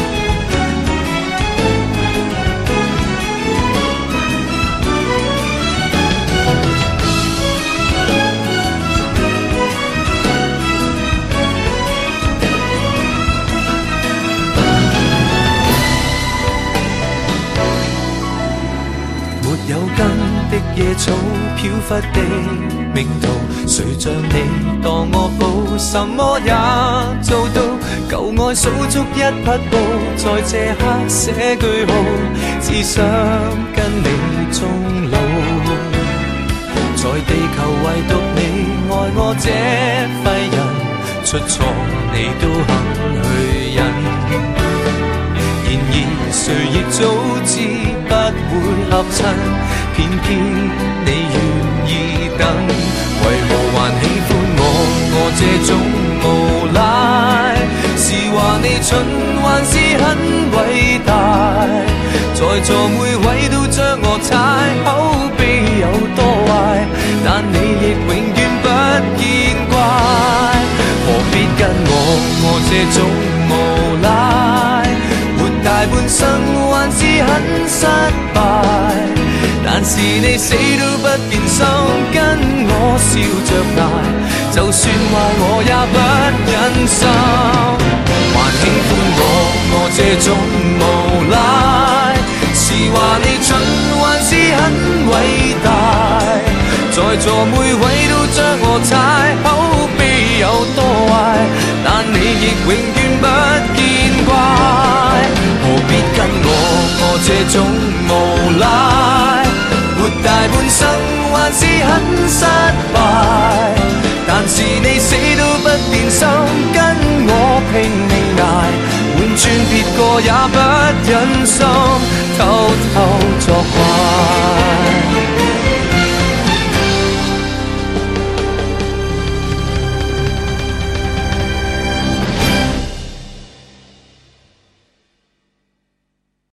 有根的野草飄忽的命途，誰像你當我寶，什麼也做到，舊愛數足一匹布，在這刻寫句號，只想跟你終老。在地球唯獨你愛我這廢人，出錯你都肯去忍。然而誰亦早知不會合襯，偏偏你願意等。為何還喜歡我？我這種無賴，是話你蠢還是很偉大？在座每位都將我踩，口碑有多壞，但你亦永遠不見怪。何必跟我？我這種無賴，大半生還是很失敗，但是你死都不變心，跟我笑着捱，就算壞我也不忍心。還喜歡我？我這種無賴，是話你蠢還是很偉大？在座每位都將我踩，口碑有多壞，但你亦永遠不見怪。何必跟我？我這種無賴，活大半生還是很失敗，但是你死都不變心，跟我拼命捱，換轉別個也不忍心偷偷